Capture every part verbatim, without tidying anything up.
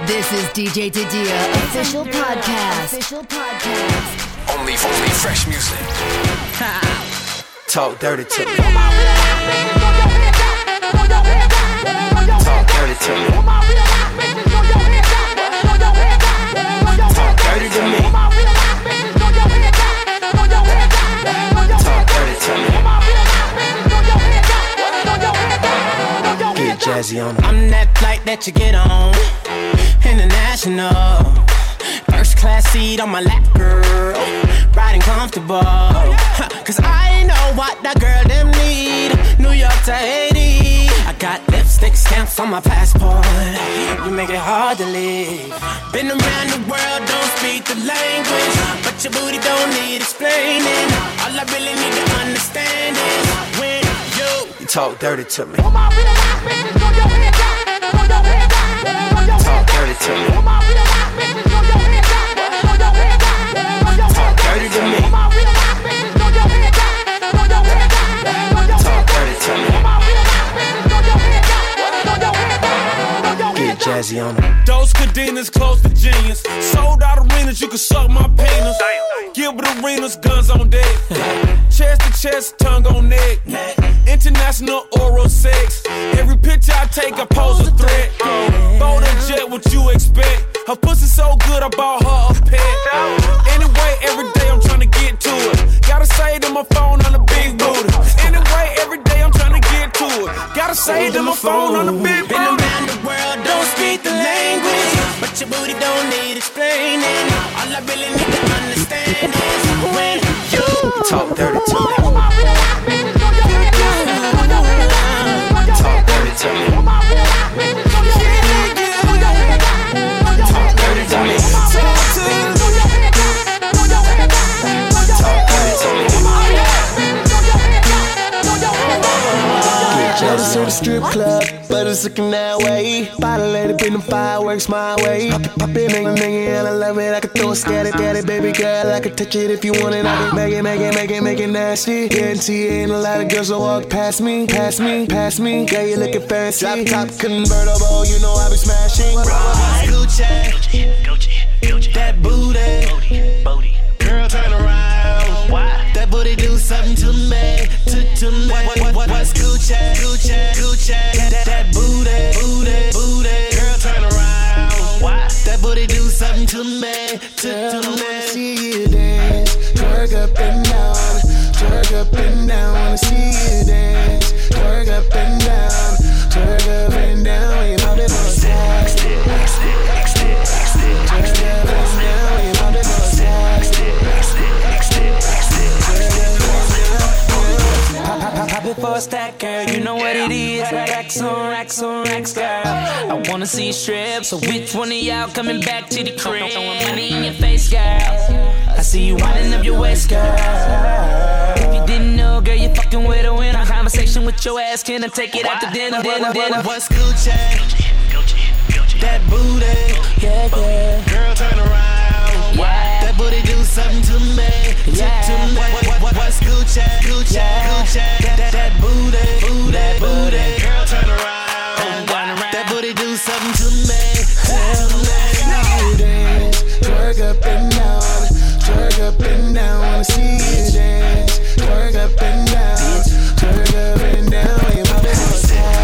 This is D J Didia official podcast. Official podcast. Only, only fresh music. Talk dirty to me. Talk dirty to me. Talk dirty to me. Talk dirty to me. Get jazzy on it. I'm that flight that you get on. International. First class seat on my lap, girl. Riding comfortable. Cause I know what that girl them need. New York to Haiti. I got lipstick stamps on my passport. You make it hard to leave. Been around the world, don't speak the language. But your booty don't need explaining. All I really need to understand is when you, you talk dirty to me. Talk dirty to me. Talk dirty to me. Talk dirty to me. Get jazzy on it. Those cadenas close to genius. Sold out arenas, you can suck my penis. Gilbert Arenas, guns on deck. Chest to chest, tongue on neck. International oral sex. Every picture I take, I pose a threat. Bold and jet, what you expect? Her pussy so good, I bought her a pet. Anyway, every day I'm trying to get to it. Gotta say to my phone on the big booty. Anyway, every day I'm trying to get to it. Gotta say to my phone on the big booty. Been around the world, don't speak the language. But your booty don't need explaining. All I really need to understand is when you talk dirty to me. Talk dirty to me. Talk dirty to me. Talk dirty to me. Notice at the strip club, but it's looking that way. Bottle lady, bring them fireworks my way. Pop it, pop it, make it, make it, and I love it. I can throw a scat it, get it, baby girl. I can touch it if you want it. I can make it, make it, make it, make it nasty. Guarantee ain't a lot of girls that walk past me, past me, past me. Yeah, you looking fancy. Drop top convertible, you know I be smashing. Gucci, Gucci, Gucci, that booty, booty. Girl, turn around. Why? That booty do something to me, to, to me. What, what, what, what's Gucci, Gucci, Gucci? That, that booty, booty, booty. Girl, turn around. Why? That booty do something to me, to, to me. I wanna see you dance, twerk up and down, twerk up and down. Wanna see you dance, twerk up and down, twerk up and down. You know this on side, twerk up and down. You know this on side. Pop it for a stack, girl, you know what it is. Racks on racks on racks, girl. I wanna see you strip, so which one of y'all coming back to the crib? Throwing money in your face, girl. I see you winding up your waist, girl. If you didn't know, girl, you fucking with a winner. Conversation with your ass, can I take it out to dinner, dinner, dinner? What's Gucci? That booty, yeah, yeah. Girl, turn around. Yeah. That booty do something to me, Yeah. to me. What, what, what, what's Gucci? Gucci, Yeah. Gucci. That, that, that booty, booty, That booty. booty. Girl, turn around. Turn around. That booty do something to me, to me. You dance, twerk up and down, twerk up and down. Wanna see you dance, twerk up and down, twerk up and down. You pop it on side.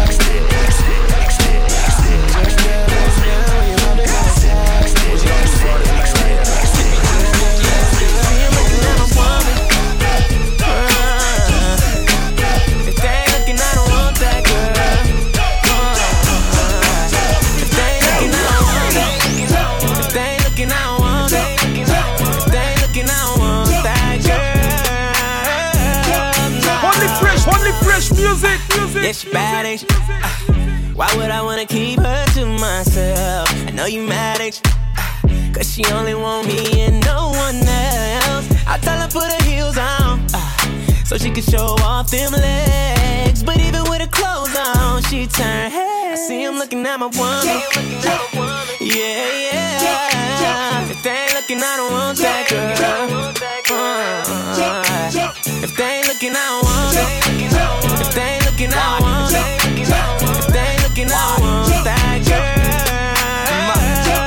Music, music. Yeah, she bad, ain't she? Uh, why would I wanna keep her to myself? I know you mad, ain't you? Uh, Cause she only want me and no one else. I tell her put her heels on, uh, so she can show off them legs. But even with her clothes on, she turn heads. I see him looking at my woman. Yeah, yeah. If they ain't looking, I don't want that girl. Uh, if they ain't looking, I don't want it. If they ain't looking, I don't want it. If they ain't looking, I don't want that girl.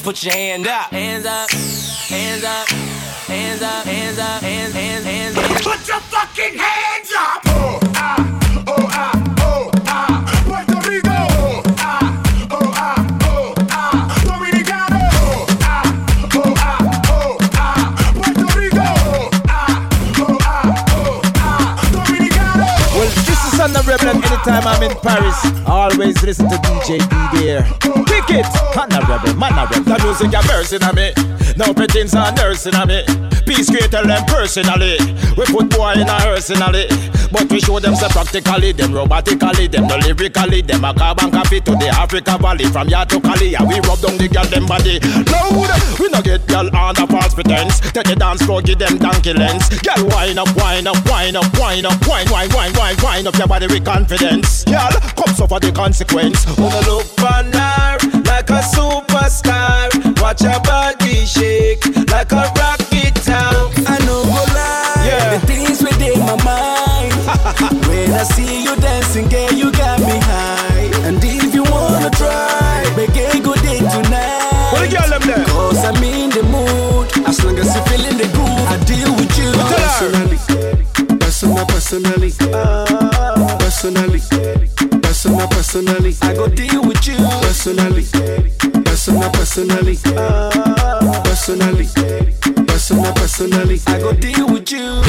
put your hand up. Hands up, hands up, hands up, hands up, hands, hands, hands, hands. Put your fucking hands up. Oh, ah, oh, ah, oh, ah. Puerto Rico. Oh, ah, oh, ah, oh, ah. Dominicano. Oh, ah, oh, ah, oh, ah. Puerto Rico. Oh, ah, oh, ah, oh, ah. Dominicano. Well, this is on the Rebel, and anytime I'm in Paris, I always listen to D J B there. Pick it! Man a rebel, man a rebel. The music a versing on me. No pretense are nursing on me. Peace greater than personally. We put boy in a personally. But we show them so practically, them robotically, them no lyrically, them a carbon copy to the Africa Valley. From here to Cali, and we rub down the girl them body. Loud, we no get girl on the false pretense. Take the dance floor, give them donkey lens. Girl wine up, wine up, wine up, wine up, wine, wine, wine, wine, wine up your body with confidence. Girl, come suffer the consequence. Wanna look on her like a superstar. Watch her body shake like a rock guitar. I know go lie, yeah. The things within my mind. When I see you dancing, girl, you got me high. And if you wanna try, make a good day tonight. What the girl them there? Cause I'm in the mood. As long as you feeling the groove, I deal with you. Personally, personal, personally, uh, personally, personal, personally. I go deal with you. Personally, personal, personally, uh, personally, personal, personally. I go deal with you.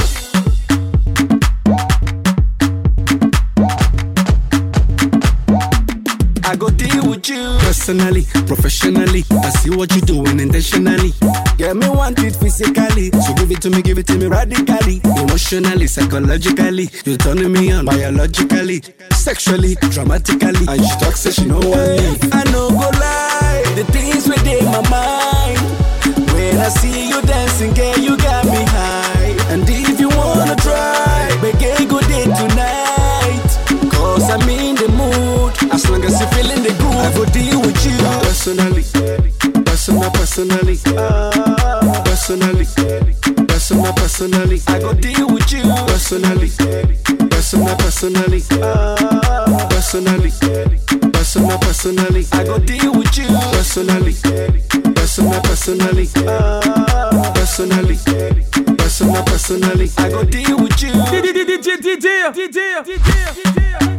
I go deal with you. Personally, professionally, I see what you're doing intentionally. Get me want it physically, so give it to me, give it to me radically. Emotionally, psychologically, you're turning me on biologically, sexually, dramatically. And she talks, say she know what I mean. I know go lie, the things within my mind. When I see you dancing, girl, you got me high. And if you wanna try, make a good day tonight. Cause I'm in the mood. As long as you feeling the groove, I go deal with you. Personally, personal, personally, uh, personally, personal, personally. I go deal with you. Personally, personal, personally, uh, personally, personal, personally. I go deal with you. Personally, personal, personally, uh, personally, personal, personally. I go deal with you. D J, D J, D J, D J.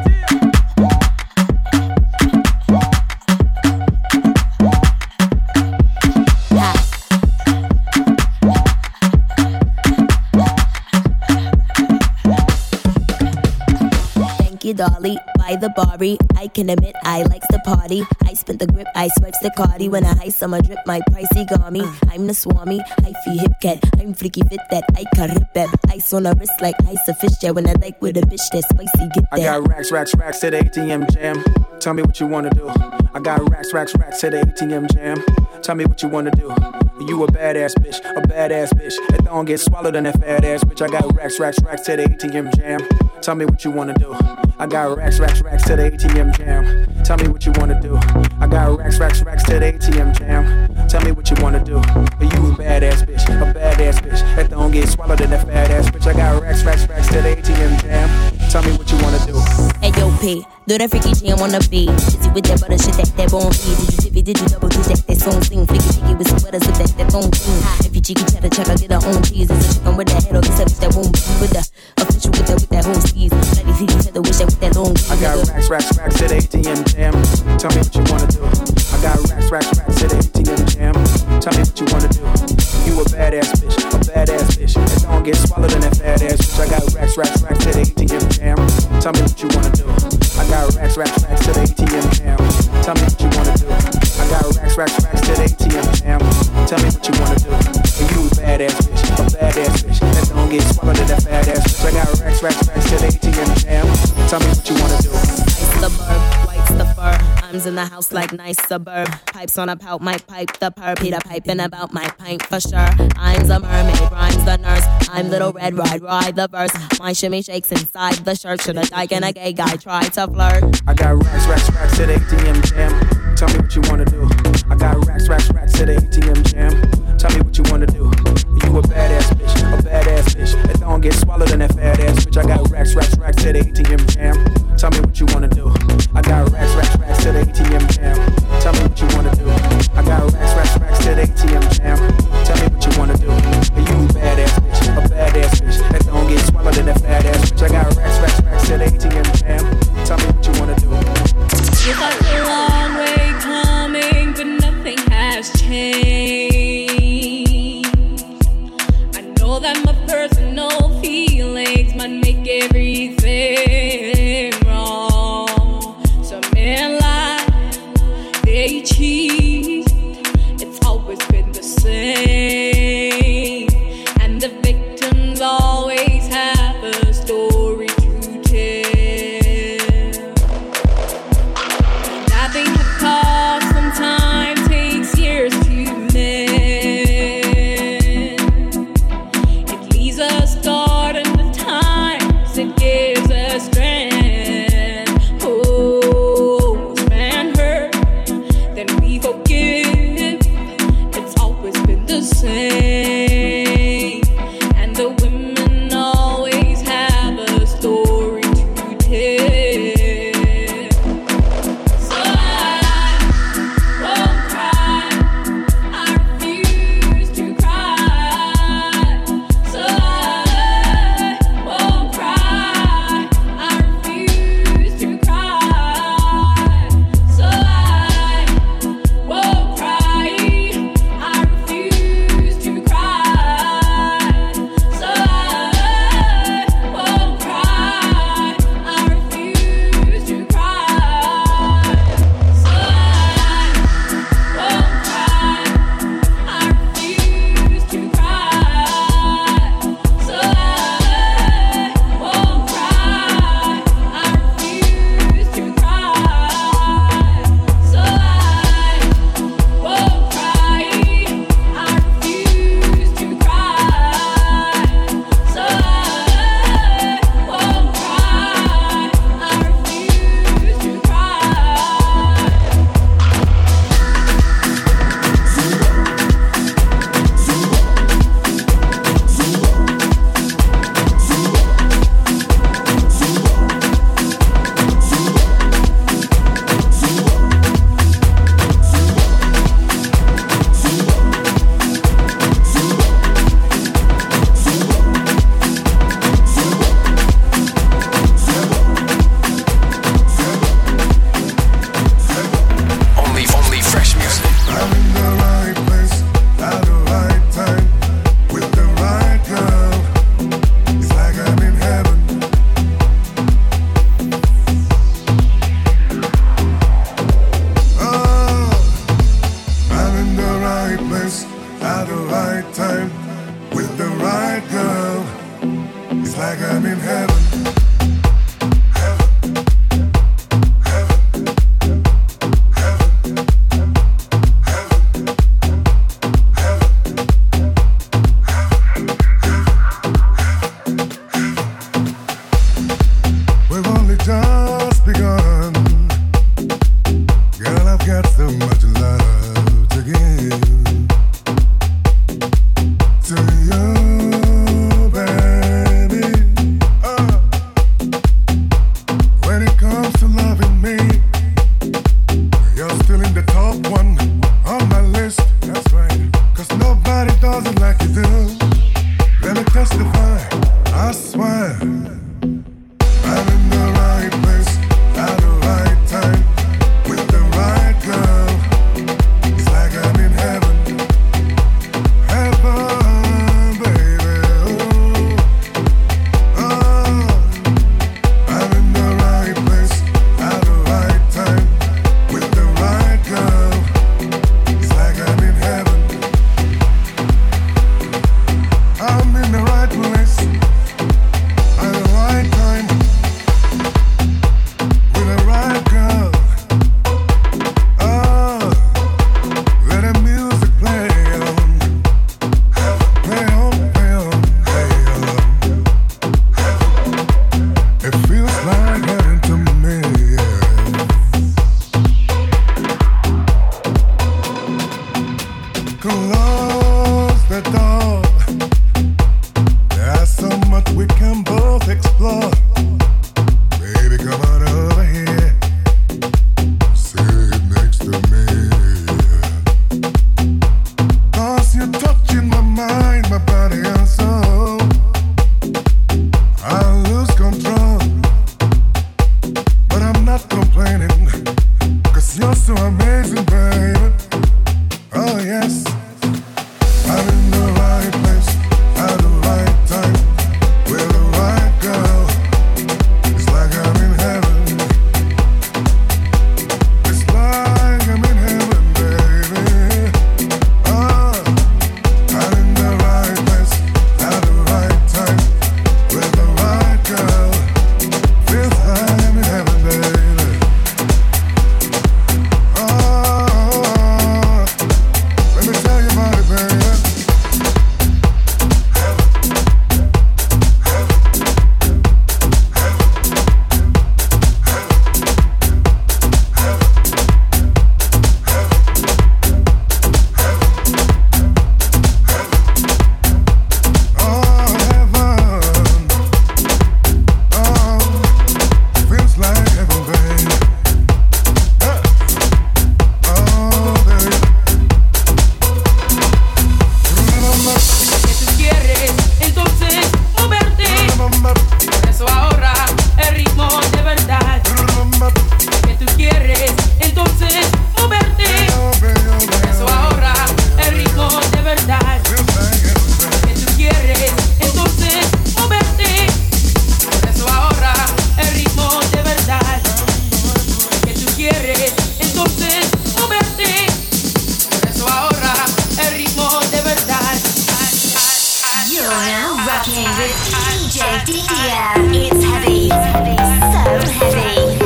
Dolly by the Bari, I can admit I likes the party. I spent the grip, I swipes the cardi. When I ice, I'ma drip my pricey garmy. I'm the swami, I feel hip cat. I'm freaky fit that I can rip that. Ice on a wrist like ice a fish jet. When I like with a bitch that spicy, get that. I got racks, racks, racks to the A T M jam. Tell me what you wanna do. I got racks, racks, racks to the A T M jam. Tell me what you wanna do. You a badass bitch, a badass bitch. That don't get swallowed in that fat ass bitch. I got racks, racks, racks to the A T M jam. Tell me what you wanna do. I got racks, racks, racks to the A T M jam. Tell me what you wanna do. I got racks, racks, racks to the A T M jam. Tell me what you wanna do. You a badass bitch, a badass bitch. That don't get swallowed in that fat ass bitch. I got racks, racks, racks to the A T M jam. Tell me what you wanna do. Hey yo P, do that freaky jam on the beat. Busy with that butter shit that that won't be. Did you tippy, did you double did that that song sing? Flicky flicky with some butter so that that won't sing. If you cheeky cheddar check, I get her own cheese. There's a chicken with that head on the subject that won't be. With the official with that with that whole skis. Bloody flicky feather wish that with that long I got racks, racks, racks to the A T M jam. Tell me what you wanna do. I got racks, racks, racks to the A T M jam. Tell me what you wanna do. You a badass bitch, a badass bitch. That don't get swallowed in that fat ass bitch. I got racks, racks, racks to the A T M jam. Tell me what you wanna do. I got racks, racks, racks to the A T M jam. Tell me what you wanna do. I got racks, racks, racks to the A T M jam. Tell me what you wanna do. And you a badass bitch, a badass bitch. That don't get swallowed in that fat ass bitch. I got racks, racks, racks to the A T M jam. Tell me what you wanna do. Suburb, white's the fur. I'm in the house like nice suburb. Pipes on a pout, mic pipe the purr. Peter piping about my pint for sure. I'm the mermaid, rhymes the nurse. I'm little red, ride, ride the verse. My shimmy shakes inside the shirt. Should a dyke and a gay guy try to flirt? I got racks, racks, racks to the A T M jam. Tell me what you wanna do. I got racks, racks, racks to the A T M jam. Tell me what you wanna do. You a badass bitch, a badass bitch. That don't get swallowed in that fat ass bitch. I got racks, racks, racks to the A T M jam. Tell me what you wanna do. I got racks, racks, racks to the A T M jam. Tell me what you wanna do. I got racks, racks, racks quieres, entonces súbete. Por eso ahora el ritmo de verdad. You're now rocking with D J Didier. It's heavy, so heavy.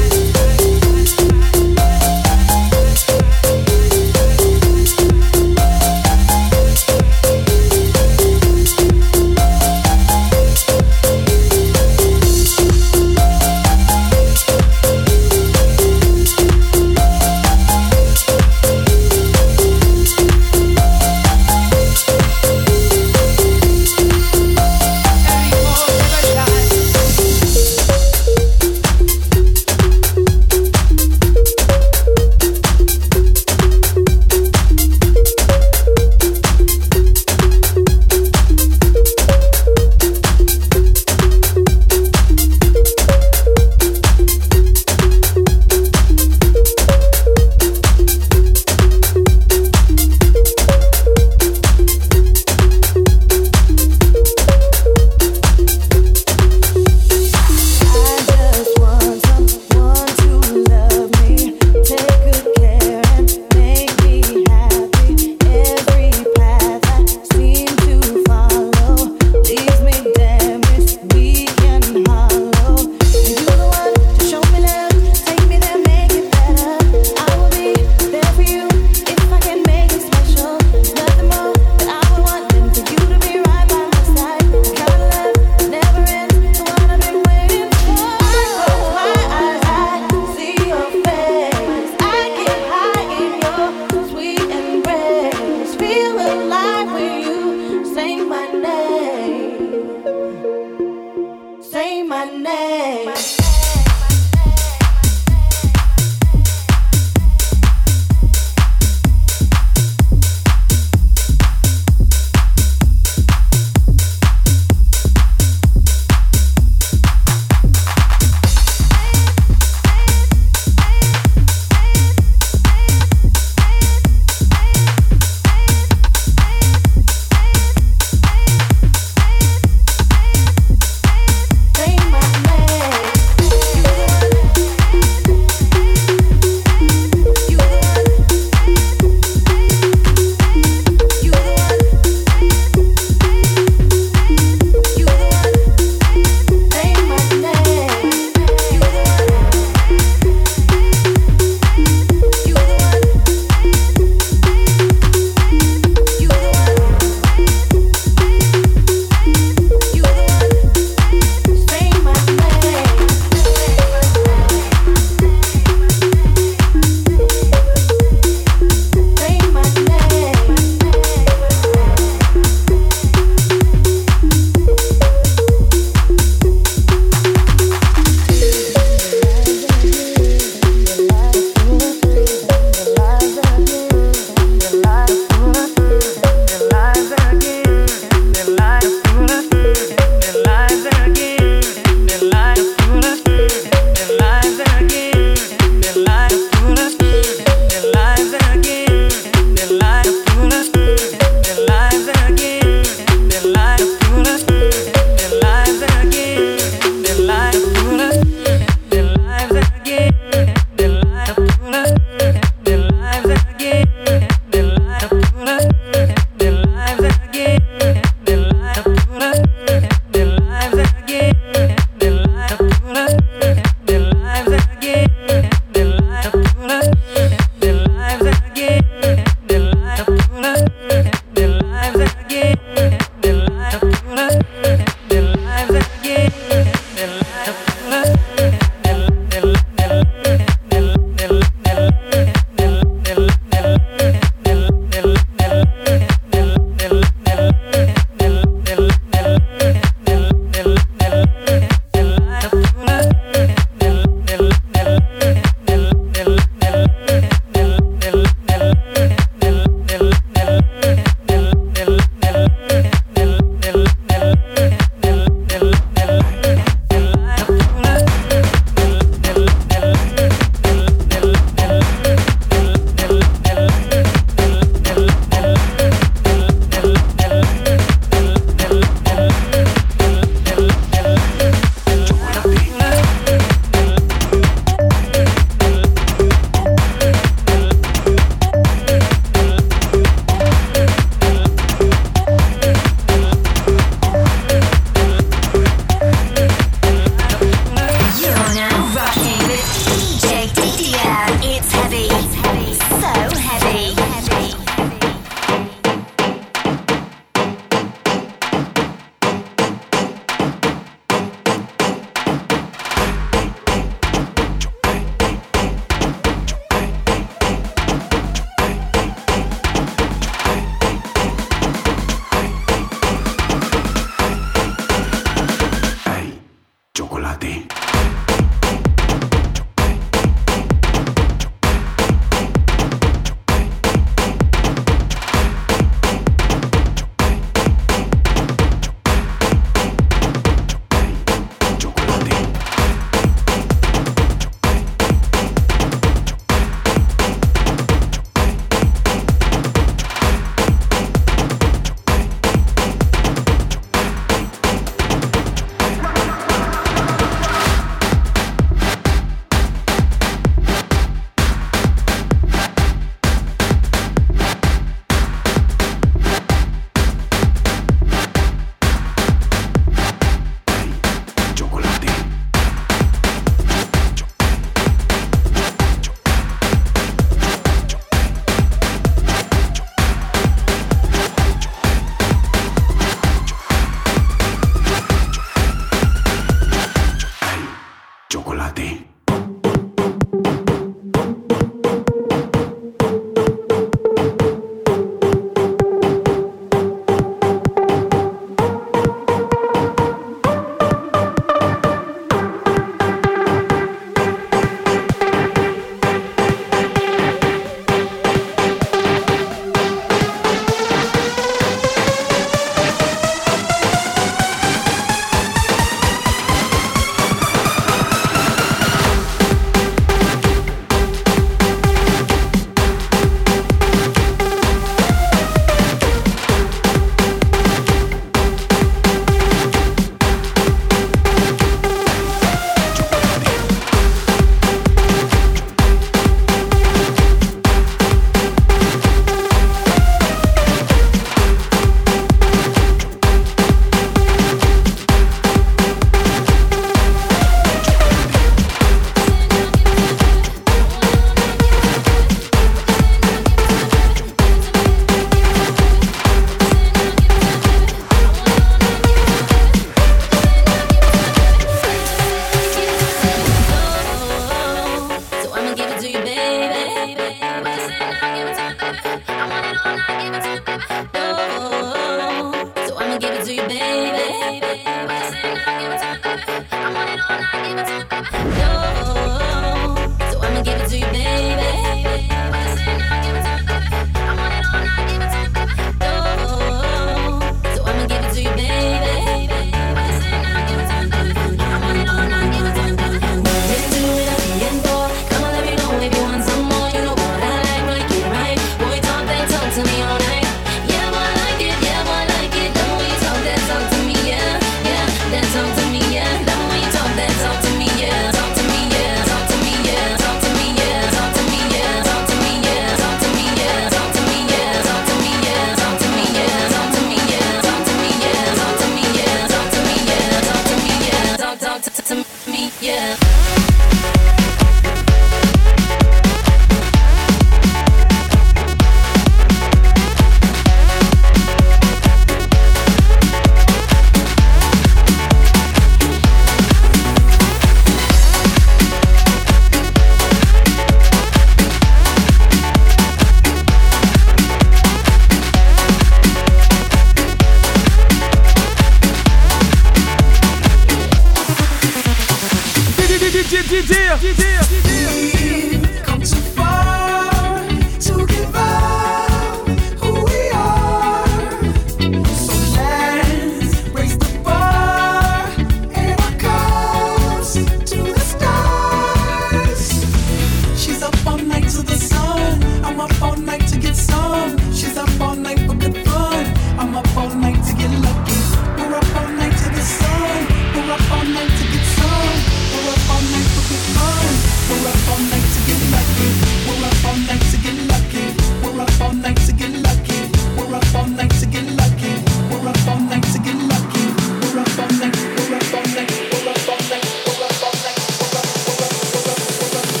We've come too far to give up who we are. So let's raise the bar and our cups to the stars. She's up all night to the sun. I'm up all night to get some. She's up all night for good fun. I'm up all night to get lucky. We're up all night to the sun. We're up all night to get some. We're up all night for good fun. We're up all night to get lucky. We're up all night to get lucky. We're up all night to get lucky. We're up all night to get lucky. We're up all night to get lucky. We're up all night. We're up all night. We're up all night. We're up all night. We're up. We're up. We're up. We're up.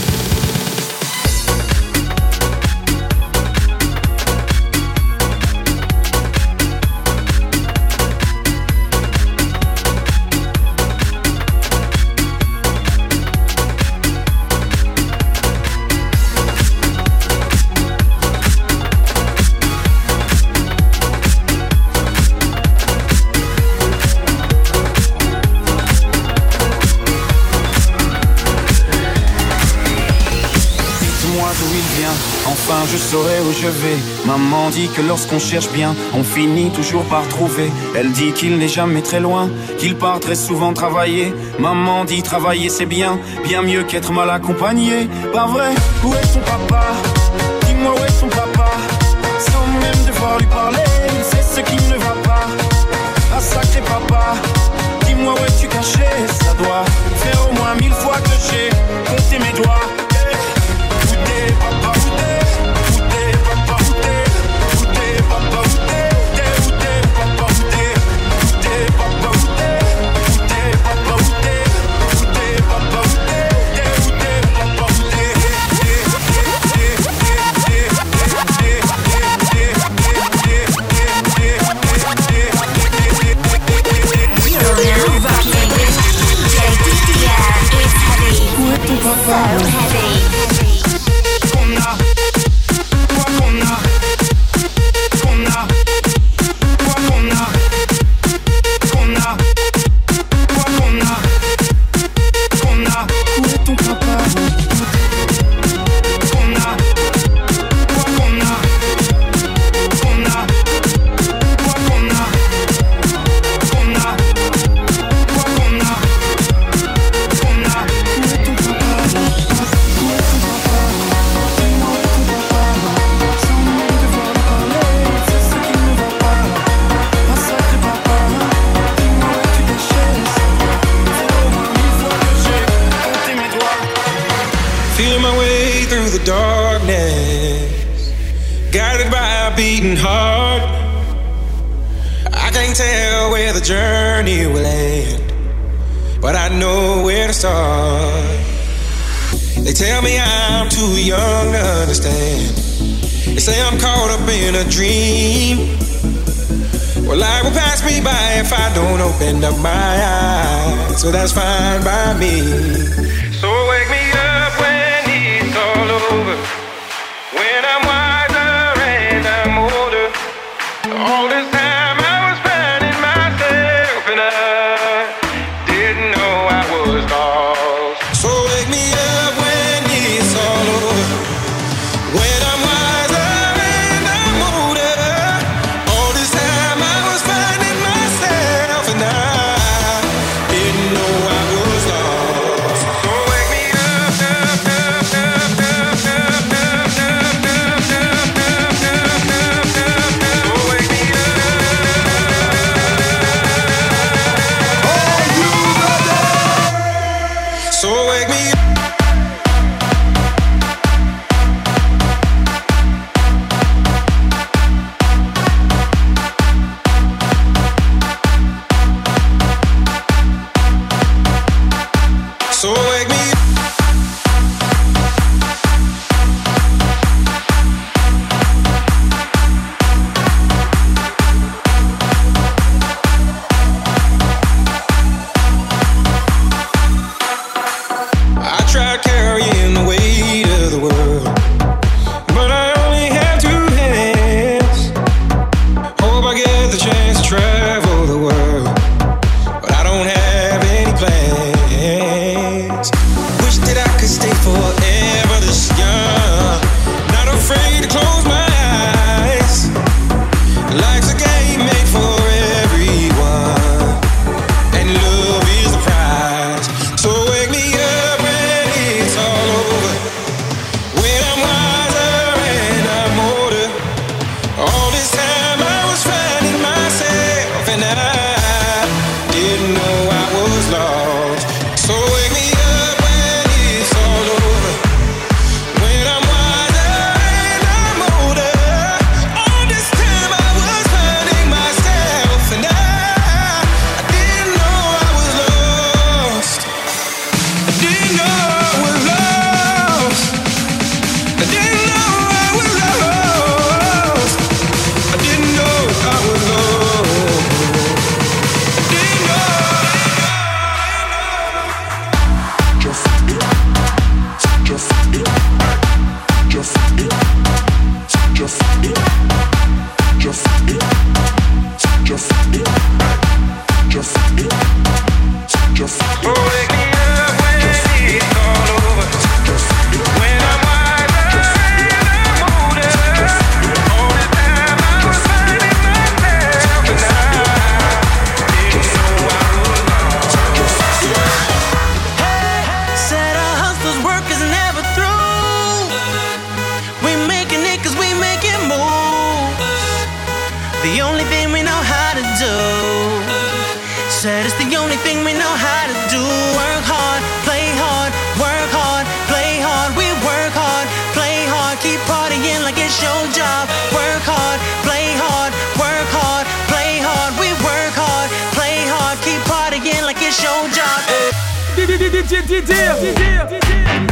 Dis-moi d'où il vient, enfin je saurai où je vais. Maman dit que lorsqu'on cherche bien, on finit toujours par trouver. Elle dit qu'il n'est jamais très loin, qu'il part très souvent travailler. Maman dit travailler c'est bien, bien mieux qu'être mal accompagné. Pas vrai, où est son papa? Dis-moi où est son papa? Sans même devoir lui parler, il sait ce qui ne va pas. Ah sacré papa, dis-moi où es-tu caché? Ça doit faire au moins mille fois que j'ai compté mes doigts. Papa, où t'es? Où t'es, papa, où t'es? Où t'es, papa, où t'es? T'es où t'es, papa, où t'es? Où t'es, papa, où t'es? Où t'es, papa, où t'es? Où t'es, papa, où t'es? T'es où t'es, papa, où You're now rocking with D J Didier. It's heavy. It's so heavy. Guided by a beating heart, I can't tell where the journey will end, but I know where to start. They tell me I'm too young to understand. They say I'm caught up in a dream. Well, life will pass me by if I don't open up my eyes, so that's fine by me. So wake me up when it's all over, when I'm wiser and I'm older. All this time I was finding myself and I didn't know I was lost. So wake me up when it's all over, when I'm wiser and I'm older. All this time I was finding myself and I didn't know I was lost. So wake me up, up, up, up, up, up, up, up, up, up, up, up, up. So wake me up. So wake me up. dear, dear, dear, dear.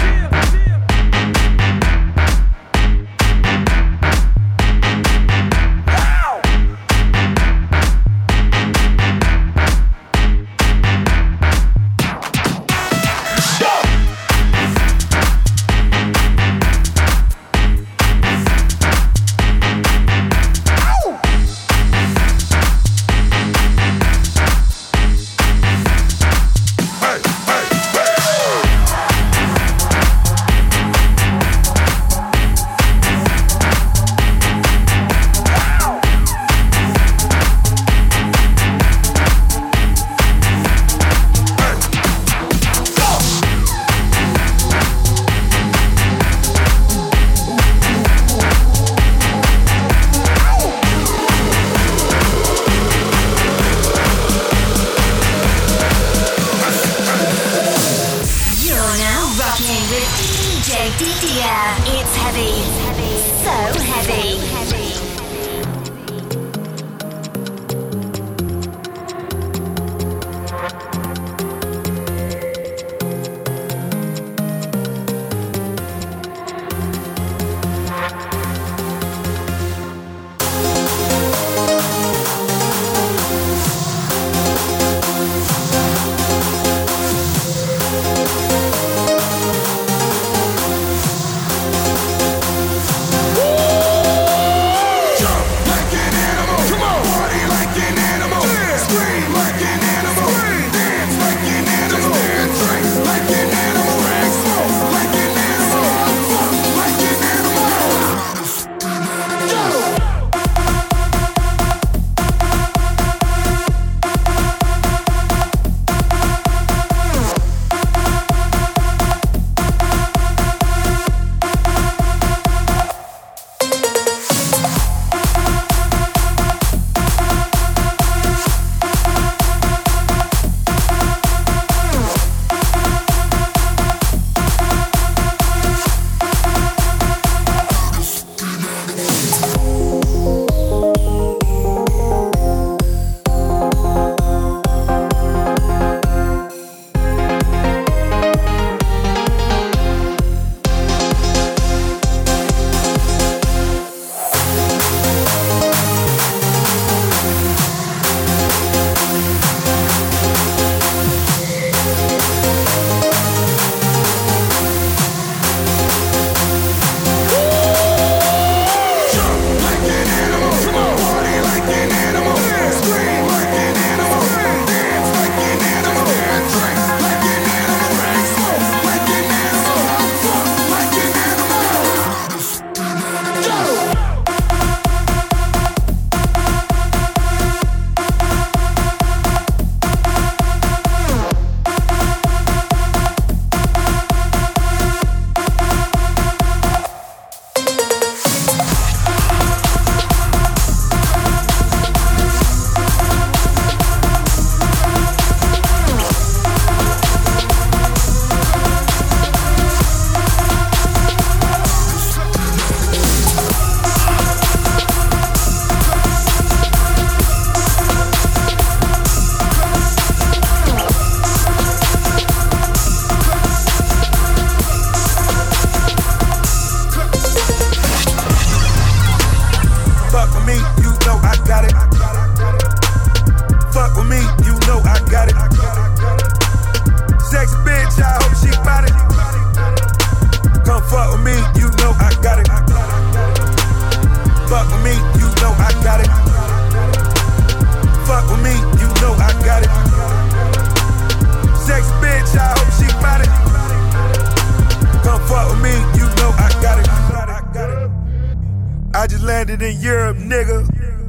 landed in Europe, nigga.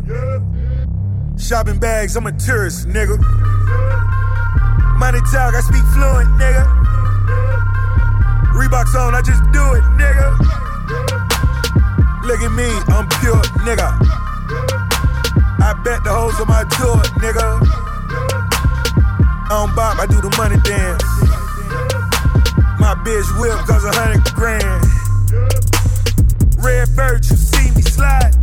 Shopping bags, I'm a tourist, nigga. Money talk, I speak fluent, nigga. Reeboks on, I just do it, nigga. Look at me, I'm pure, nigga. I bet the hoes on my tour, nigga. I don't bop, I do the money dance. My bitch whip cause a hundred grand. Red bird, you see me slide.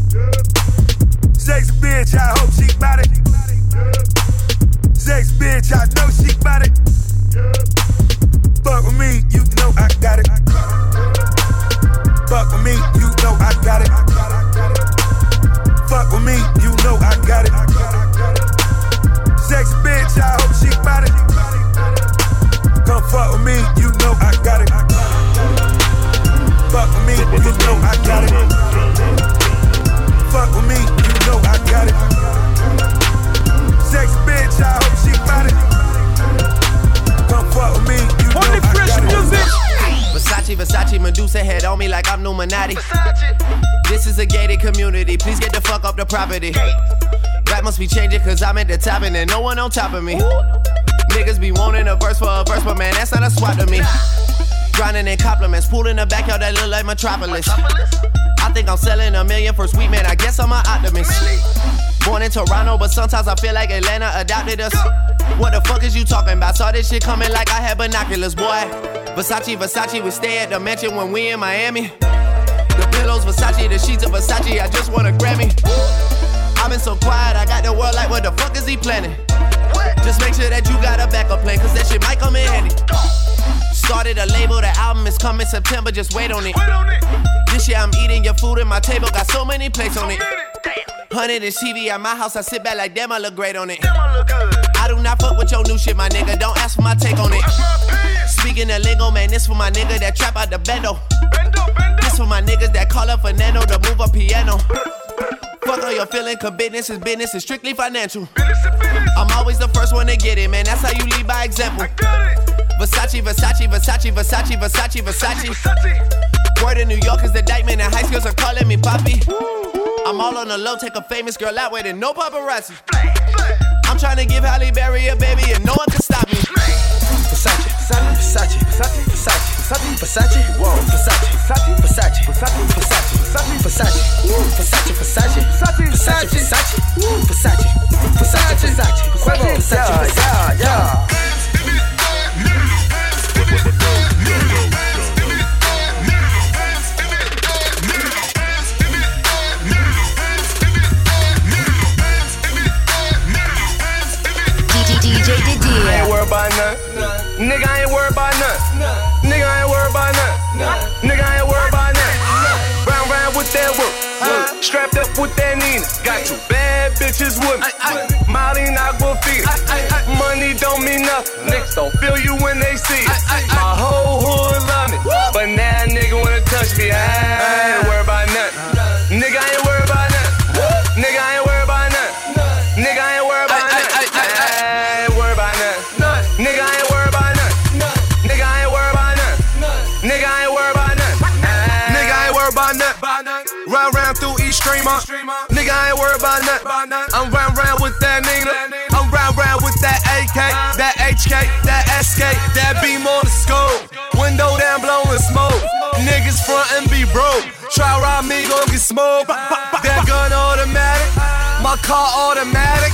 Sexy bitch, I hope she bout it. Sexy bitch, I know she bout it. me, you know I got it. Fuck with me, you know I got it. Fuck with me, you know I got it. Sexy bitch, I hope she bout it. Come fuck with me, you know I got it. Fuck with me, you know I got it. Fuck with me, you know I got it. Sexy bitch, I hope she bout it. Come fuck with me, you know I got it. Versace, Versace, Medusa head on me like I'm Numinati. This is a gated community, please get the fuck off the property. Rap must be changing cause I'm at the top and there's no one on top of me. Niggas be wanting a verse for a verse, but man, that's not a swap to me. Grinding in compliments, pool in the backyard that look like Metropolis. I think I'm selling a million for sweet man, I guess I'm an optimist. Born in Toronto, but sometimes I feel like Atlanta adopted us. What the fuck is you talking about? Saw this shit coming like I had binoculars, boy. Versace, Versace, we stay at the mansion when we in Miami. The pillows, Versace, the sheets of Versace, I just want a Grammy. I've been so quiet, I got the world like, what the fuck is he planning? Just make sure that you got a backup plan, cause that shit might come in handy. Started a label, the album is coming September, just wait on it. This year I'm eating your food and my table got so many plates on it. Hundred inch T V at my house, I sit back like damn, I look great on it. I do not fuck with your new shit, my nigga, don't ask for my take on it. Speaking of lingo, man, this for my nigga that trap out the bendo. This for my niggas that call up Fernando to move a piano. Fuck all your feeling, cause business is business, it's strictly financial. I'm always the first one to get it, man, that's how you lead by example. Versace, Versace, Versace, Versace, Versace, Versace. Word in New York is the indictment and high schools are calling me poppy. I'm all on the low, take a famous girl out with it, no paparazzi. I'm trying to give Halle Berry a baby and no one can stop me. Versace, Versace, Versace, Versace, Versace, whoa, Versace, Versace, Versace, Versace, Versace, Versace, Versace, Versace, Versace, Versace, Versace, Versace, Versace, Versace, yeah, yeah. D J Didier. I ain't worried about nothing. Nigga, I ain't worried about nothing. Nigga, I ain't worried about nothing. Nigga, I ain't worried about nothing. Round round with that work. Strapped up with that Nina. Got two bad bitches with me. Molly and Aquafina. Money don't mean nothing. Niggas don't feel you when they see it. My whole hood love me. But now nigga wanna touch me. I ain't worried about nothing. Nigga, I ain't worried about nothing. Nigga, I ain't worried about nothing. Nigga, I ain't worried about nothing. Nigga, I ain't worried about nothing. Nigga, I ain't worried about nothing. Nigga, I ain't worried about nothing. Nigga, I ain't worried about nothing. Round round through each streamer. Nigga, I ain't worried about nothing. I'm round round with that Nina. I'm round round with that A K, that H K, that S K, that beam on the scope. Window down, blowing smoke. Niggas front and be broke. Try ride me, gon' get smoked. That gun automatic. My car automatic.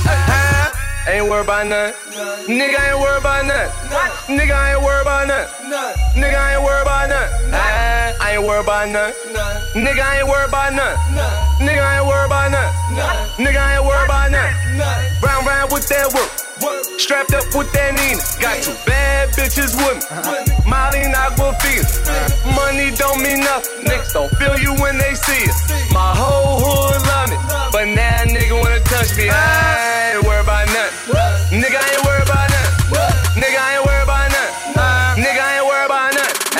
Ain't worried about nothing. Nigga, I ain't worried about nothing. Nigga, I ain't worried about nothing. Nigga, I ain't worried about nothing. I ain't worried about nothing. Nigga, I ain't worried about nothing. Nigga, I ain't worried about nothing. Nigga, I ain't worried about nothing. Round round with that work. Strapped up with that Nina. Got two bad bitches with me. Molly and Aquafina. Money don't mean nothing. Niggas don't feel you when they see it. My whole hood love me. But now nigga wanna touch me. I ain't worried about nothing. Nigga, I ain't worried about nothing. Nigga, I ain't worried about nothing. Nigga, I ain't worried about nothing.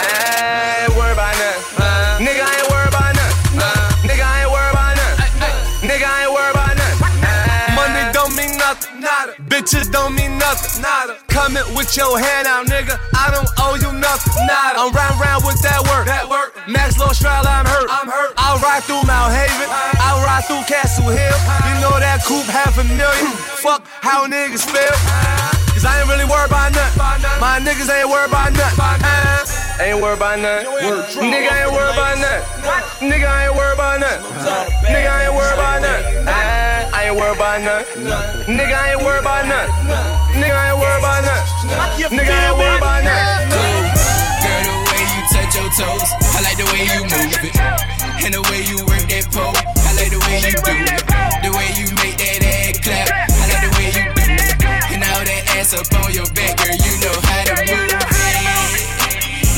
I ain't worried about nothing. Nigga, I ain't worried about nothing. Nigga, I ain't worried about nothing. Nigga, I ain't worried about nothing. Money don't mean nothing. Nada. Bitches don't mean nothing. Nada. Coming with your hand out, nigga. I don't owe you nothing. Nada. I'm round round with that work. That work. Max Low Stroud, I'm hurt. I'm hurt. I'll ride through Mount Haven. I'll ride through Castle Hill. You know that coupe half a million. Fuck how niggas feel. Cause I ain't really worried about nothing. My niggas ain't worried about nothing. Uh, ain't worried about nothing. Nigga ain't worried about nothing. Nigga ain't worried about nothing. Nigga ain't worried about nothing. Uh, I ain't worried about nothing. Nigga ain't worried about nothing. Nigga ain't worried about nothing. Nigga ain't worried about nothing. Girl, the way you touch your toes, I like the way you move it. And the way you work that pole, I like the way you do it. The way you make that ass clap, I like the way you do it. And all that ass up on your back, girl, you know how to move it.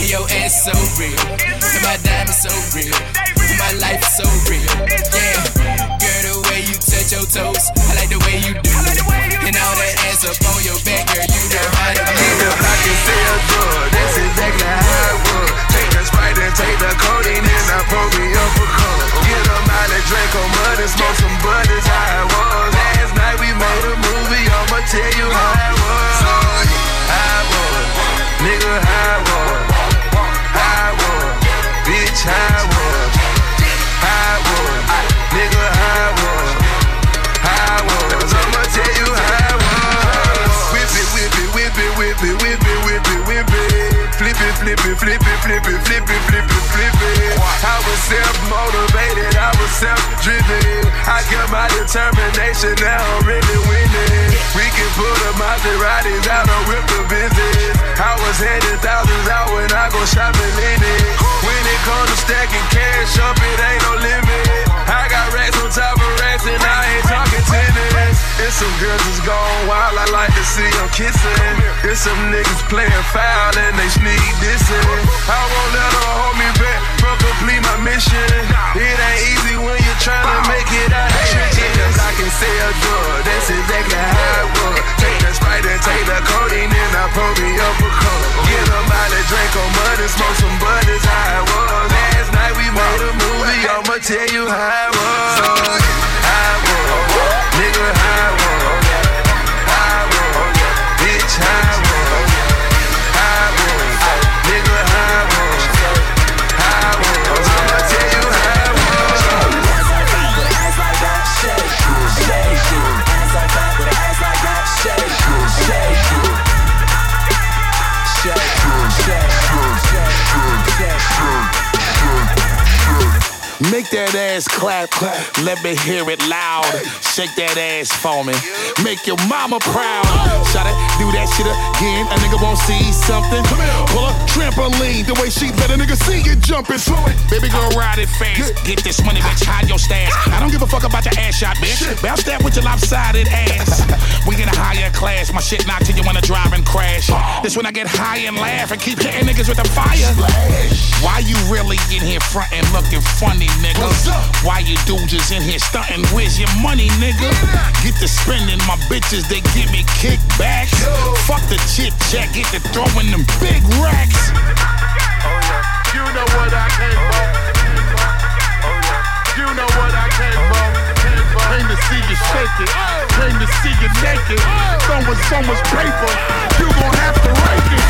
so real. And my diamonds so real. And my life is so real. Yeah, girl, the way you touch your toes, I like the way you do it. And all that ass up on your back, girl, you know how to do it. If I can say a drug, that's exactly how it was. Take the Sprite and take the codeine and I pour me up a cup. Get a Molly, drink a mud and smoke some bud, that's how it was. Last night we made a movie, I'ma tell you how it was. How it was, nigga, how it was. How it was, bitch, how it was. How it was, nigga, how it was. How it was, I'ma tell you how it was. Whip it, whip it, whip it, whip it, whip it, whip it, whip it. Flip it, flip it, flip it, flip it, flip it, flip it, flip it. I was self-motivated, I was self-driven. I got my determination, now I'm really winning. We can put the Maseratis out and whip the business. I was handing thousands out when I go shopping in it. When it comes to stacking cash up, it ain't no limit. I got racks on top of racks and I ain't talking tennis. It's some girls that's gone wild, I like to see them kissing. It's some niggas playing foul and they sneak dissing. I won't let her hold me back from complete my mission. It ain't easy when you're trying to make it out of shit. If I can say a drug, that's exactly how it was. Take the Sprite and take the codeine and I pour me up a cup. Get a Molly, drink a mud and smoke some bud, that's how it was. Last night we made a movie, I'ma tell you how it was. How it was, nigga, how it was. How it was, bitch, how it was. How it was, nigga, how it was. How it was, I'ma tell you how it was. Ass like that, shake, shake it. Ass like that, with an ass like that, shake, shake it. Shake, shake, shake, shake, shake. Make that ass clap, clap, let me hear it loud. Shake that ass for me, make your mama proud. Shout it, do that shit again, a nigga won't see something. Pull up trampoline, the way she let a nigga see you jumping. Baby girl, ride it fast, get this money, bitch, hide your stash. I don't give a fuck about your ass shot, bitch. Bounce that with your lopsided ass. We get a higher class, my shit knock till you wanna drive and crash. This when I get high and laugh and keep hitting niggas with the fire. Why you really in here frontin' looking funny, nigga? Why you dudes is in here stuntin'? Where's your money, nigga? Get to spending, my bitches, they give me kickbacks. Fuck the chit chat, get to throwing them big racks. Oh yeah, you know what I came for. Oh yeah, you know what I came for. Came to see you shake it, came to see you naked. Throwing so much paper, you gon' have to rake it.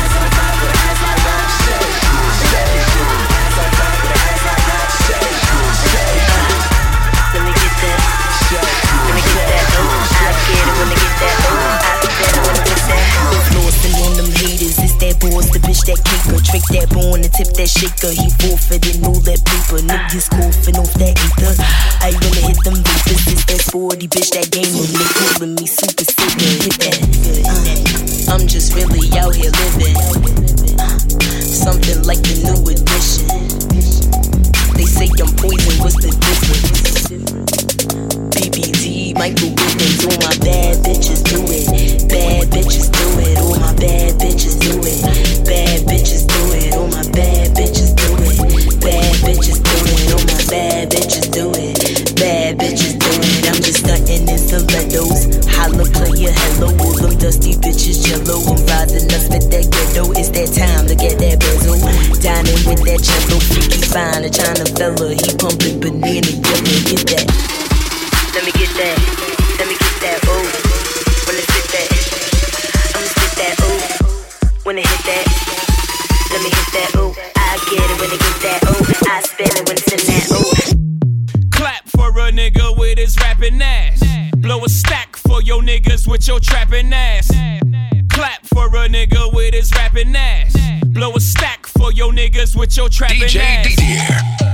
Let me get that. Let me get that. Oh, I get it when I get that. Oh, I get it when I get that. Lost on them haters, it's that boss, the bitch that kicker. Trick that bone and tip that shaker. He forfeited all that paper. Niggas coughing off that ether. I wanna hit them vapors. It's that sporty bitch, that gamer. They calling me super sicker. Hit that. Uh, I'm just really out here living. Uh, something like the new edition. They say I'm poison, what's the difference? P P D, Michael Wiggins, all my bad bitches do it. Bad bitches do it, all my bad bitches do it. Bad bitches do it, all my bad bitches do it. Bad bitches do it, all my bad bitches do it. Bad bitches do it, I'm just stuntin' in stilettos. Holla, player, hello, all them dusty bitches jello. I'm rising up with that ghetto, it's that time to get that bezel. Dining with that cello, freaky fine, a China fella. He pumping banana, yellow, get that. Let me get that, let me get that, oh. When I spit that, I'ma spit that, oh. When I hit that, let me hit that, oh. I get it when I get that, oh. I spin it when it's in that, oh. Clap for a nigga with his rapping ass. Blow a stack for your niggas with your trapping ass. Clap for a nigga with his rapping ass. Blow a stack for your niggas with your trapping D J ass. D J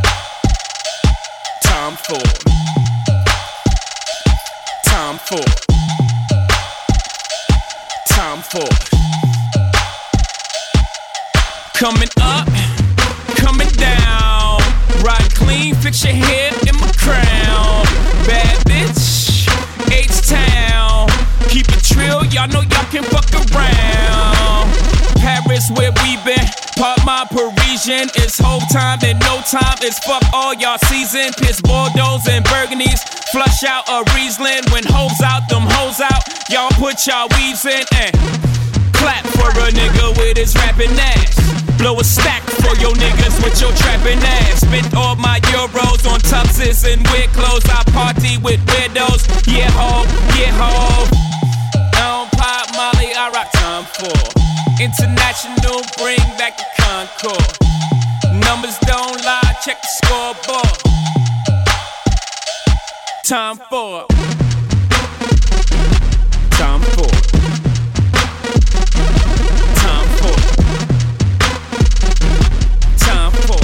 Tom Ford. Tom Ford. Tom Ford. Coming up, coming down. Ride clean, fix your hair in my crown. Bad bitch, H-Town. Keep it trill, y'all know y'all can fuck around. Paris where we been, pop my Parisian. Parisian. It's whole time and no time. It's fuck all y'all season. Piss Bordeaux and Burgundies. Flush out a Riesling. When hoes out, them hoes out. Y'all put y'all weaves in and clap for a nigga with his rapping ass. Blow a stack for your niggas with your trapping ass. Spent all my euros on tuxes and weird clothes. I party with weirdos. Yeah, ho, yeah, ho. I don't pop Molly, I rock time for international, bring back the Concord. Numbers don't lie, check the scoreboard. Time for Time for Time for Time for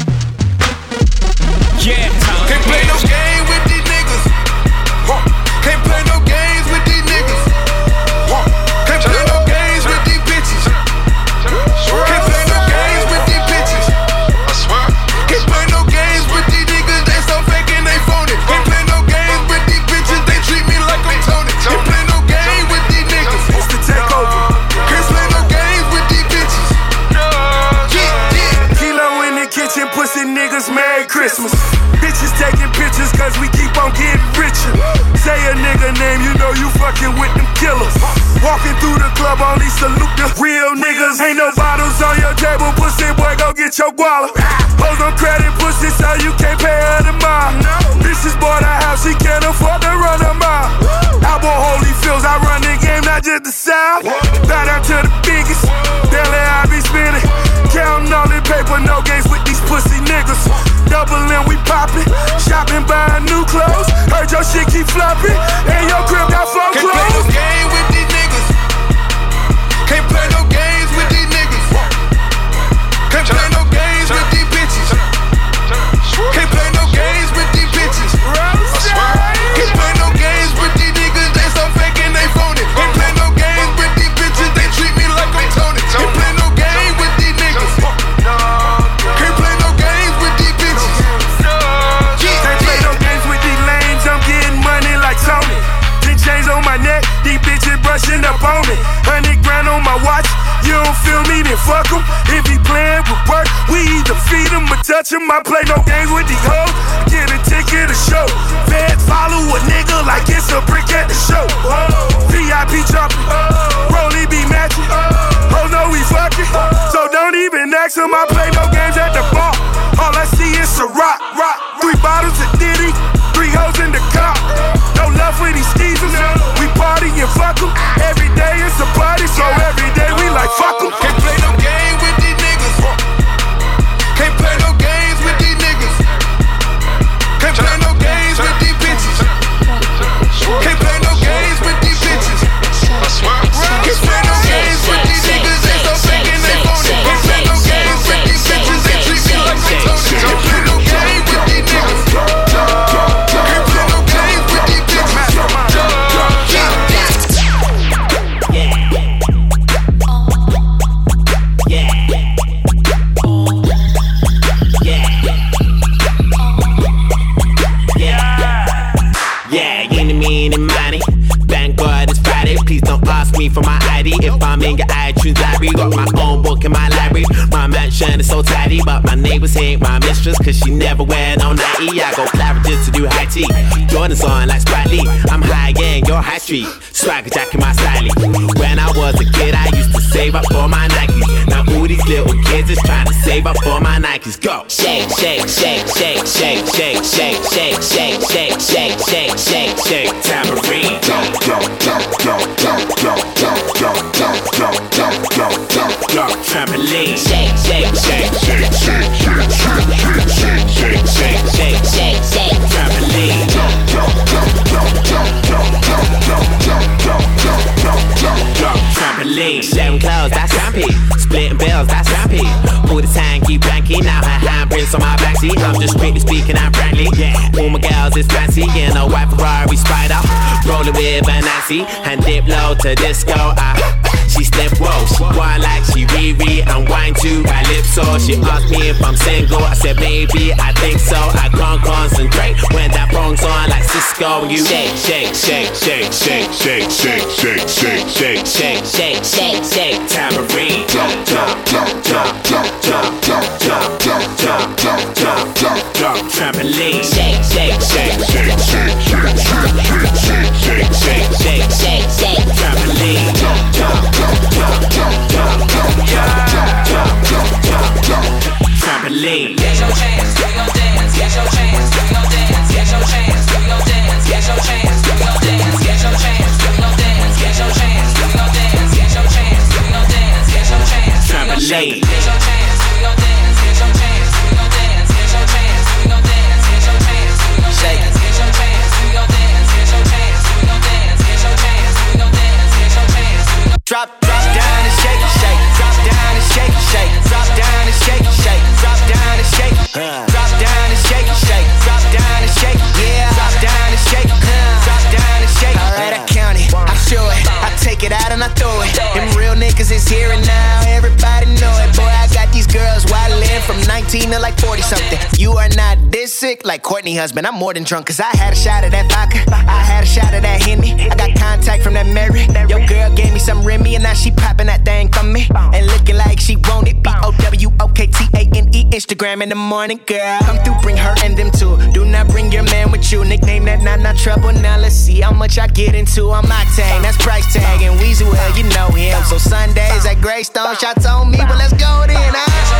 Yeah, time. Can't play no game with these niggas. Huh. Can't play no games with these niggas. Huh. Can't play no games with these bitches. Can't play no games with these bitches. I swear. Can't play no games with these niggas. They so fake and they phony. Can't play no games with these bitches. They treat me like I'm Tony. Can't play no game with these niggas. It's the takeover. Can't play no games with these bitches. Yeah, yeah. Kilo in the kitchen, pussy niggas, Merry Christmas. Bitches taking pictures cause we keep on getting richer. Say a nigga name, you know you fucking with them killers. Walking through the club, only salute the real niggas. Ain't no bottles on your table, pussy boy, go get your guala. Hoes on credit, pussy, so you can't pay her the mile. Bitches bought a house, she can't afford to run a mile. I bought Holyfields, I run the game, not just the South. Bow down to the biggest, daily I be spinning. Counting all the paper, no games with these pussy niggas. Doubling, we poppin', shopping, buying new clothes. Heard your shit keep flopping, and your crib got four Can't play no clothes. game with these niggas. Can't play no games with these niggas. Can't play no games with these bitches. Can't play no games with these bitches. Can't play no games with these niggas. They so fake and they phony. Can't play no games with these bitches. They treat me like I'm Tony. Can't play no game with these niggas. Can't play no games with these bitches. Can't play no games with these lanes, I'm getting money like Tony. Ten chains on my neck, these bitches brushing up on me. Hundred grand on my watch, you don't feel me, then fuck him. If he playin' with work, we either feed him or touch him. I play no games with these hoes, get a ticket to show. Feds follow a nigga like it's a brick at the show. V I P jumping, Rollie be matching. Oh no, we fucking, so don't even ask him. I play no games at the bar, all I see is a rock, rock. Three bottles of Diddy, three hoes in the car. No love for these skeezers, we party and fuck em. Every day it's a party, so every day we like fuck em. Can't play no game with these niggas. Can't play no games with these niggas. Can't play no games with these bitches. Can't play no games with these bitches. I swear. Can't play no games with these niggas. They so fake and they phony. Can't play no games with these bitches. They treat me like I'm Tony. Can't play no game with these niggas. Can't play no games with these bitches. Please don't ask me for my I D. If I'm in your iTunes library, got my own book in my library. My mansion is so tidy, but my neighbors ain't my mistress, cause she never wear no nightie. I go Claridge's to do high tea. Jordan's on like Spike Lee. I'm high end, you're high street. Swagger jack in my styling. When I was a kid, I used to save up for my Nikes. Now all these little kids is trying to save up for my Nikes. Go! Shake, shake, shake, shake, shake, shake, shake, shake, shake, shake, shake, shake, shake, shake, tambourine. Go, go, go, go, go, go, go, go, go, go, go, go, go, go, trampoline. Shake, shake, shake, shake, shake, shake, shake, shake, shake, shake, shake, shake, shake, trampoline. Go, go, go, go, go, go, go, go, go, go, go, go, go, go, trampoline. Sharing clothes, that's rampy. Splitting bills, that's rampy. All the time, keep blanky. Now her handprints on my backseat. I'm just strictly speaking, I'm frankly. All my girls is fancy. In a white Ferrari Spider. Rolling with a Nancy. And dip low to disco. I she slip, whoa. She wild like she Riri and wine to my lips. So she asked me if I'm single. I said maybe, I think so. I can't concentrate when that phone's on like Cisco. You shake, shake, shake, shake, shake, shake, shake, shake, shake, shake, shake, shake, shake, shake, tambourine. Jump, jump, jump, jump, jump, jump, jump, jump, jump, jump, jump, jump, jump, jump, trampoline. Shake, shake, shake, shake, shake, shake, shake, shake, shake, shake, shake, shake, trampoline. Jump, jump, jump, jump, jump, jump, jump, jump, jump, jump, jump, jump, trampoline. Get your chance, do your dance. Get your chance, do your dance. Get your chance, do your dance. Get your chance, do your dance. Get your chance, do your dance. Get your chance, do your dance. Get your chance, do your dance. Get your chance, trampoline. Get your chance, do your dance. Get your chance, do your dance. Get your chance, do your dance. Get your chance, do your dance. Get your chance, do your dance. Get your chance, do your dance. Get your chance, do your dance. Get your chance, do your Drop, drop down and shake, shake. Drop down and shake, shake. Drop down and shake, shake. Drop down and shake. Drop down and shake, shake. Drop down and shake. Yeah. Drop down and shake. Drop down and shake. Alright, I count it. I show it. I take it out and I throw it. Them real niggas is here and now. Everybody know it. Boy, I got these girls wildin' from nineteen to like forty something. You are not this sick like Courtney husband. I'm more than drunk cause I had a shot of that vodka. I had a shot of that Henny. I got contact from that Mary. Your girl gave me some Remy and now she popping that thing for me. And looking like she want it. B O W O K T A N E. Instagram in the morning, girl. Come through, bring her and them too. Do not bring your man with you. Nickname that not not trouble. Now let's see how much I get into. I'm Octane, that's price tag. And Weezy, well, you know him. So Sundays at Greystone, shots on me, but let's go then. I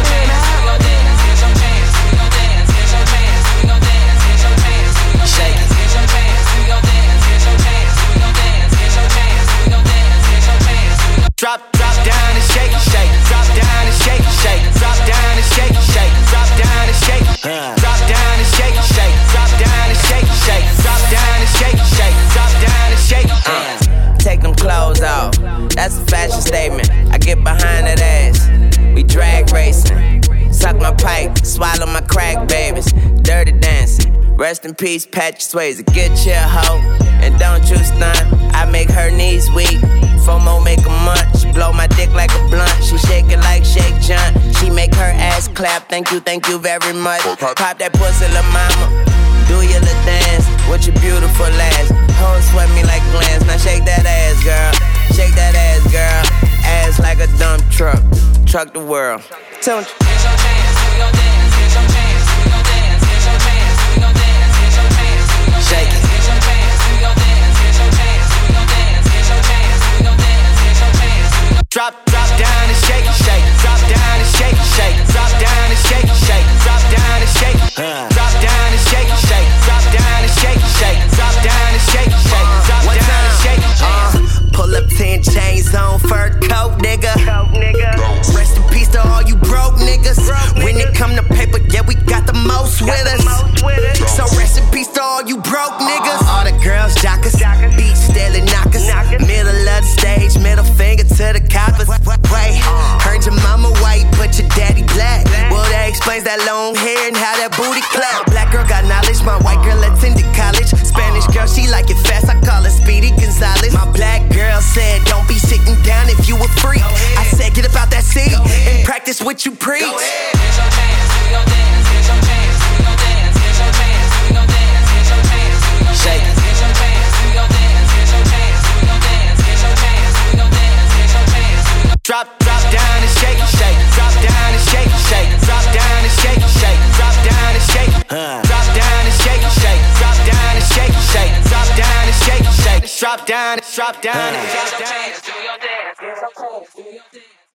Drop, drop down and shake, shake. Drop down and shake, shake. Drop down and shake, shake. Drop down and shake. Drop down and shake, shake. Drop down and shake, shake. Drop down and shake, shake. Drop down and shake. Uh, take them clothes off. That's a fashion statement. I get behind that ass. We drag racing. Suck my pipe, swallow my crack babies. Dirty dancing. Rest in peace, Patrick Swayze. Get your hoe, and don't you stunt. I make her knees weak. FOMO make a munch. Blow my dick like a blunt. She shake it like Shake John. She make her ass clap. Thank you, thank you very much. Pop that pussy, la mama. Do your little dance with your beautiful ass. Hold sweat me like glands. Now shake that ass, girl. Shake that ass, girl. Ass like a dump truck. Truck the world. Tell me. Get your chance, do your dance. Get your chance, do your dance. Get your chance, do your dance. Get your chance, do your shake it. Get your chance, do your dance. Get your chance, do your dance. Get your chance, do your dance. Get your chance, do your Drop, drop down and shake, shake. Drop down and shake, shake. Drop down and shake, shake. Drop down and shake. Drop down and shake, shake. Drop down and shake, shake. Drop down and shake, shake. Drop down and shake. Uh, pull up ten chains on fur coat, nigga. Rest in peace to all you broke niggas. When it come to paper, yeah, we got the most with us. So rest in peace to all you broke niggas. All the girls jockers, beat steady knockers. Middle of the stage, middle finger to the coppers. Wait, heard your mama white, but your daddy black. Well, that explains that long hair and how that booty clap. Black girl got knowledge, my white girl attended college. Spanish girl, she like it fast, I call her Speedy Gonzalez. My black girl said, don't be sitting down if you a freak. I said, get up out that seat and practice what you preach. Get your chance, do your dance. Get your chance, do your dance. Get your chance, do your dance. Get your chance, do your shake it. Get your chance, do your dance. Get your chance, do your dance. Get your chance, do your dance. Get your chance, do your Drop, drop down and shake, shake. Drop down and shake, shake. Drop down and shake, shake. Drop down and shake. Drop down and shake, shake. Drop down and shake, shake. Drop down and shake, shake. Drop down, drop down, drop down. do your dance.